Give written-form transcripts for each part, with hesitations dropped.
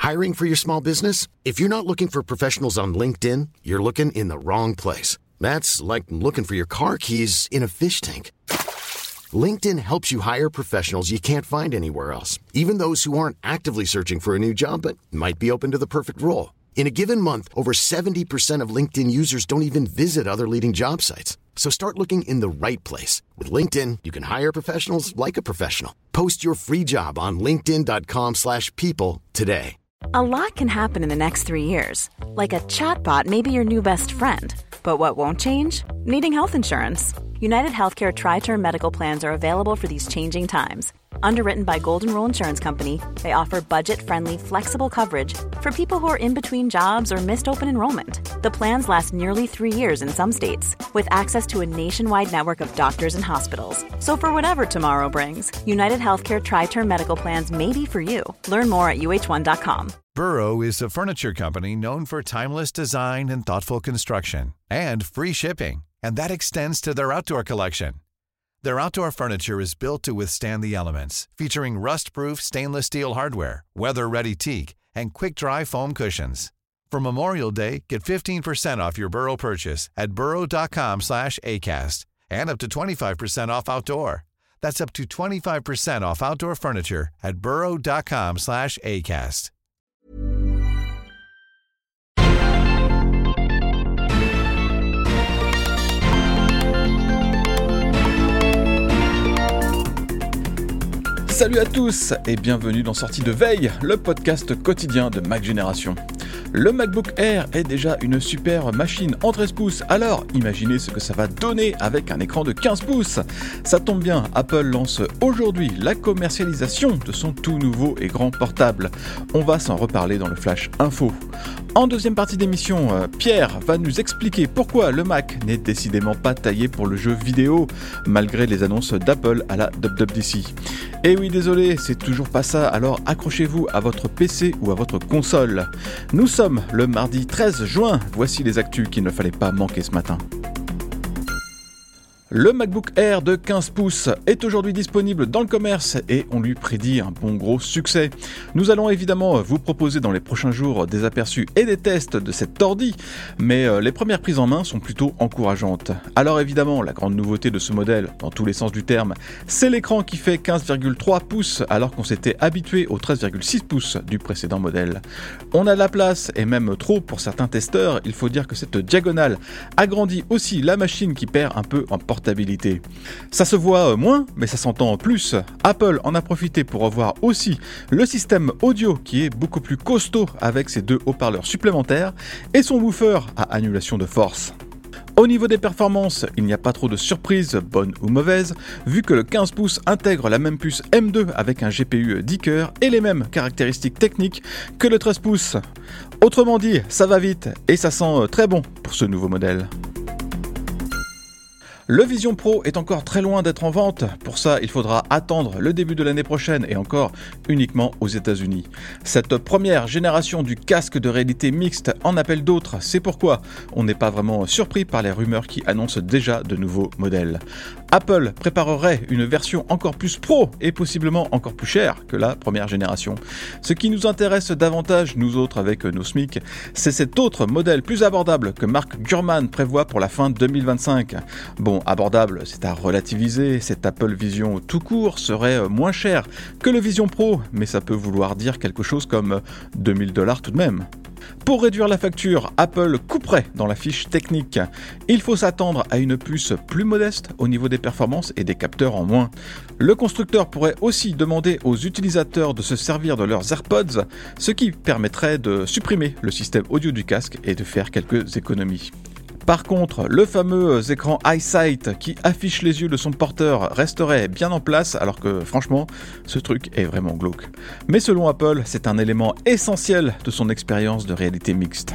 Hiring for your small business? If you're not looking for professionals on LinkedIn, you're looking in the wrong place. That's like looking for your car keys in a fish tank. LinkedIn helps you hire professionals you can't find anywhere else, even those who aren't actively searching for a new job but might be open to the perfect role. In a given month, over 70% of LinkedIn users don't even visit other leading job sites. So start looking in the right place. With LinkedIn, you can hire professionals like a professional. Post your free job on linkedin.com/people today. A lot can happen in the next 3 years. Like a chatbot may be your new best friend. But what won't change? Needing health insurance. United Healthcare Tri-Term Medical Plans are available for these changing times. Underwritten by Golden Rule Insurance Company, they offer budget-friendly, flexible coverage for people who are in between jobs or missed open enrollment. The plans last nearly 3 years in some states, with access to a nationwide network of doctors and hospitals. So for whatever tomorrow brings, United Healthcare Tri-Term Medical Plans may be for you. Learn more at uh1.com. Burrow is a furniture company known for timeless design and thoughtful construction, and free shipping, and that extends to their outdoor collection. Their outdoor furniture is built to withstand the elements, featuring rust-proof stainless steel hardware, weather-ready teak, and quick-dry foam cushions. For Memorial Day, get 15% off your Burrow purchase at burrow.com/acast, and up to 25% off outdoor. That's up to 25% off outdoor furniture at burrow.com/acast. Salut à tous et bienvenue dans Sortie de Veille, le podcast quotidien de Mac Génération. Le MacBook Air est déjà une super machine en 13 pouces, alors imaginez ce que ça va donner avec un écran de 15 pouces. Ça tombe bien, Apple lance aujourd'hui la commercialisation de son tout nouveau et grand portable. On va s'en reparler dans le Flash Info. En deuxième partie d'émission, Pierre va nous expliquer pourquoi le Mac n'est décidément pas taillé pour le jeu vidéo, malgré les annonces d'Apple à la WWDC. Et oui, désolé, c'est toujours pas ça, alors accrochez-vous à votre PC ou à votre console. Nous sommes le mardi 13 juin, voici les actus qu'il ne fallait pas manquer ce matin. Le MacBook Air de 15 pouces est aujourd'hui disponible dans le commerce et on lui prédit un bon gros succès. Nous allons évidemment vous proposer dans les prochains jours des aperçus et des tests de cette ordi, mais les premières prises en main sont plutôt encourageantes. Alors évidemment, la grande nouveauté de ce modèle, dans tous les sens du terme, c'est l'écran qui fait 15,3 pouces alors qu'on s'était habitué aux 13,6 pouces du précédent modèle. On a de la place, et même trop pour certains testeurs, il faut dire que cette diagonale agrandit aussi la machine qui perd un peu en portabilité. Ça se voit moins, mais ça s'entend plus. Apple en a profité pour revoir aussi le système audio qui est beaucoup plus costaud avec ses 2 haut-parleurs supplémentaires et son woofer à annulation de force. Au niveau des performances, il n'y a pas trop de surprises, bonnes ou mauvaises, vu que le 15 pouces intègre la même puce M2 avec un GPU 10 cœurs et les mêmes caractéristiques techniques que le 13 pouces. Autrement dit, ça va vite et ça sent très bon pour ce nouveau modèle. Le Vision Pro est encore très loin d'être en vente. Pour ça, il faudra attendre le début de l'année prochaine et encore uniquement aux États-Unis. Cette première génération du casque de réalité mixte en appelle d'autres. C'est pourquoi on n'est pas vraiment surpris par les rumeurs qui annoncent déjà de nouveaux modèles. Apple préparerait une version encore plus pro et possiblement encore plus chère que la première génération. Ce qui nous intéresse davantage, nous autres avec nos SMIC, c'est cet autre modèle plus abordable que Mark Gurman prévoit pour la fin 2025. Bon, abordable, c'est à relativiser, cet Apple Vision tout court serait moins cher que le Vision Pro, mais ça peut vouloir dire quelque chose comme $2000 tout de même. Pour réduire la facture, Apple couperait dans la fiche technique. Il faut s'attendre à une puce plus modeste au niveau des performances et des capteurs en moins. Le constructeur pourrait aussi demander aux utilisateurs de se servir de leurs AirPods, ce qui permettrait de supprimer le système audio du casque et de faire quelques économies. Par contre, le fameux écran EyeSight qui affiche les yeux de son porteur resterait bien en place alors que franchement, ce truc est vraiment glauque. Mais selon Apple, c'est un élément essentiel de son expérience de réalité mixte.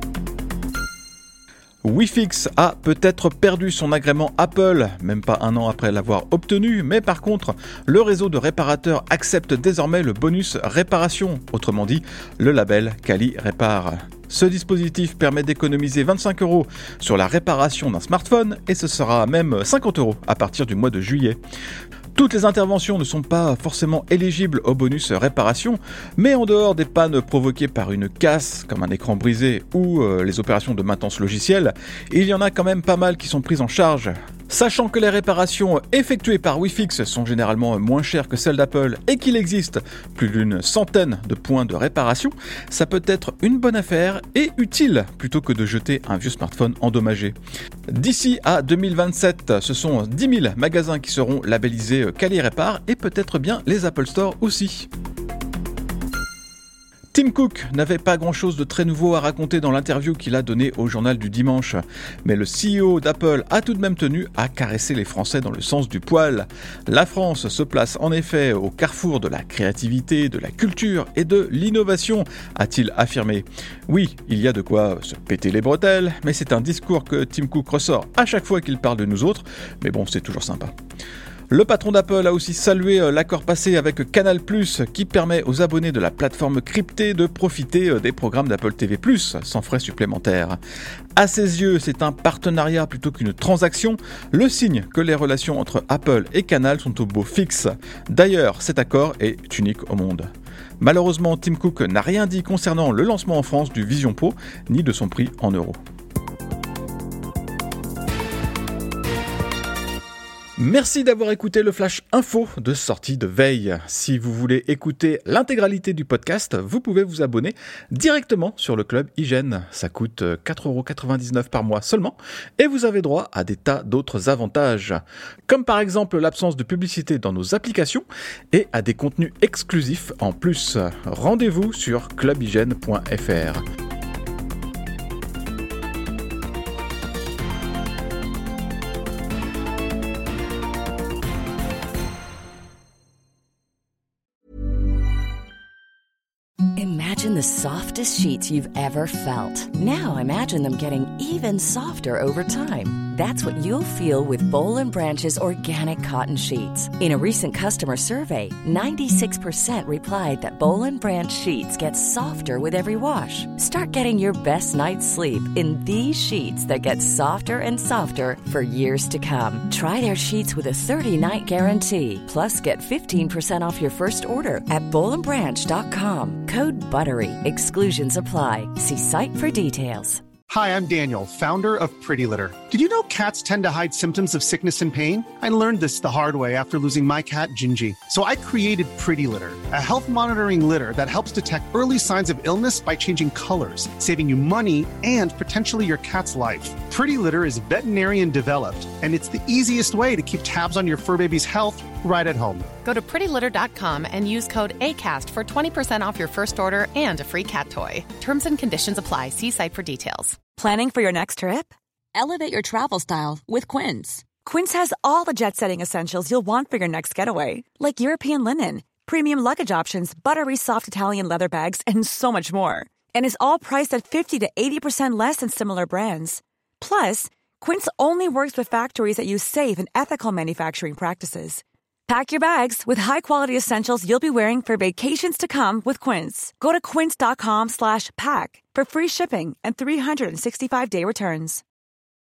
Wifix a peut-être perdu son agrément Apple, même pas un an après l'avoir obtenu, mais par contre, le réseau de réparateurs accepte désormais le bonus réparation, autrement dit, le label Quali Répare. Ce dispositif permet d'économiser 25 € sur la réparation d'un smartphone et ce sera même 50 € à partir du mois de juillet. Toutes les interventions ne sont pas forcément éligibles au bonus réparation, mais en dehors des pannes provoquées par une casse, comme un écran brisé ou les opérations de maintenance logicielle, il y en a quand même pas mal qui sont prises en charge. Sachant que les réparations effectuées par Wifix sont généralement moins chères que celles d'Apple et qu'il existe plus d'une centaine de points de réparation, ça peut être une bonne affaire et utile plutôt que de jeter un vieux smartphone endommagé. D'ici à 2027, ce sont 10 000 magasins qui seront labellisés Cali Répare et peut-être bien les Apple Store aussi. Tim Cook n'avait pas grand-chose de très nouveau à raconter dans l'interview qu'il a donnée au journal du dimanche, mais le CEO d'Apple a tout de même tenu à caresser les Français dans le sens du poil. La France se place en effet au carrefour de la créativité, de la culture et de l'innovation, a-t-il affirmé. Oui, il y a de quoi se péter les bretelles, mais c'est un discours que Tim Cook ressort à chaque fois qu'il parle de nous autres, mais bon, c'est toujours sympa. Le patron d'Apple a aussi salué l'accord passé avec Canal+, qui permet aux abonnés de la plateforme cryptée de profiter des programmes d'Apple TV+, sans frais supplémentaires. À ses yeux, c'est un partenariat plutôt qu'une transaction, le signe que les relations entre Apple et Canal sont au beau fixe. D'ailleurs, cet accord est unique au monde. Malheureusement, Tim Cook n'a rien dit concernant le lancement en France du Vision Pro, ni de son prix en euros. Merci d'avoir écouté le Flash Info de sortie de veille. Si vous voulez écouter l'intégralité du podcast, vous pouvez vous abonner directement sur le Club Hygiène. Ça coûte 4,99€ par mois seulement et vous avez droit à des tas d'autres avantages, comme par exemple l'absence de publicité dans nos applications et à des contenus exclusifs en plus. Rendez-vous sur clubhygiène.fr. Imagine the softest sheets you've ever felt. Now imagine them getting even softer over time. That's what you'll feel with Boll & Branch's organic cotton sheets. In a recent customer survey, 96% replied that Boll & Branch sheets get softer with every wash. Start getting your best night's sleep in these sheets that get softer and softer for years to come. Try their sheets with a 30-night guarantee. Plus, get 15% off your first order at bollandbranch.com. Code BUTTERY. Exclusions apply. See site for details. Hi, I'm Daniel, founder of Pretty Litter. Did you know cats tend to hide symptoms of sickness and pain? I learned this the hard way after losing my cat, Gingy. So I created Pretty Litter, a health monitoring litter that helps detect early signs of illness by changing colors, saving you money and potentially your cat's life. Pretty Litter is veterinarian developed, and it's the easiest way to keep tabs on your fur baby's health right at home. Go to prettylitter.com and use code ACAST for 20% off your first order and a free cat toy. Terms and conditions apply. See site for details. Planning for your next trip? Elevate your travel style with Quince. Quince has all the jet-setting essentials you'll want for your next getaway, like European linen, premium luggage options, buttery soft Italian leather bags, and so much more. And is all priced at 50 to 80% less than similar brands. Plus, Quince only works with factories that use safe and ethical manufacturing practices. Pack your bags with high-quality essentials you'll be wearing for vacations to come with Quince. Go to quince.com/pack for free shipping and 365-day returns.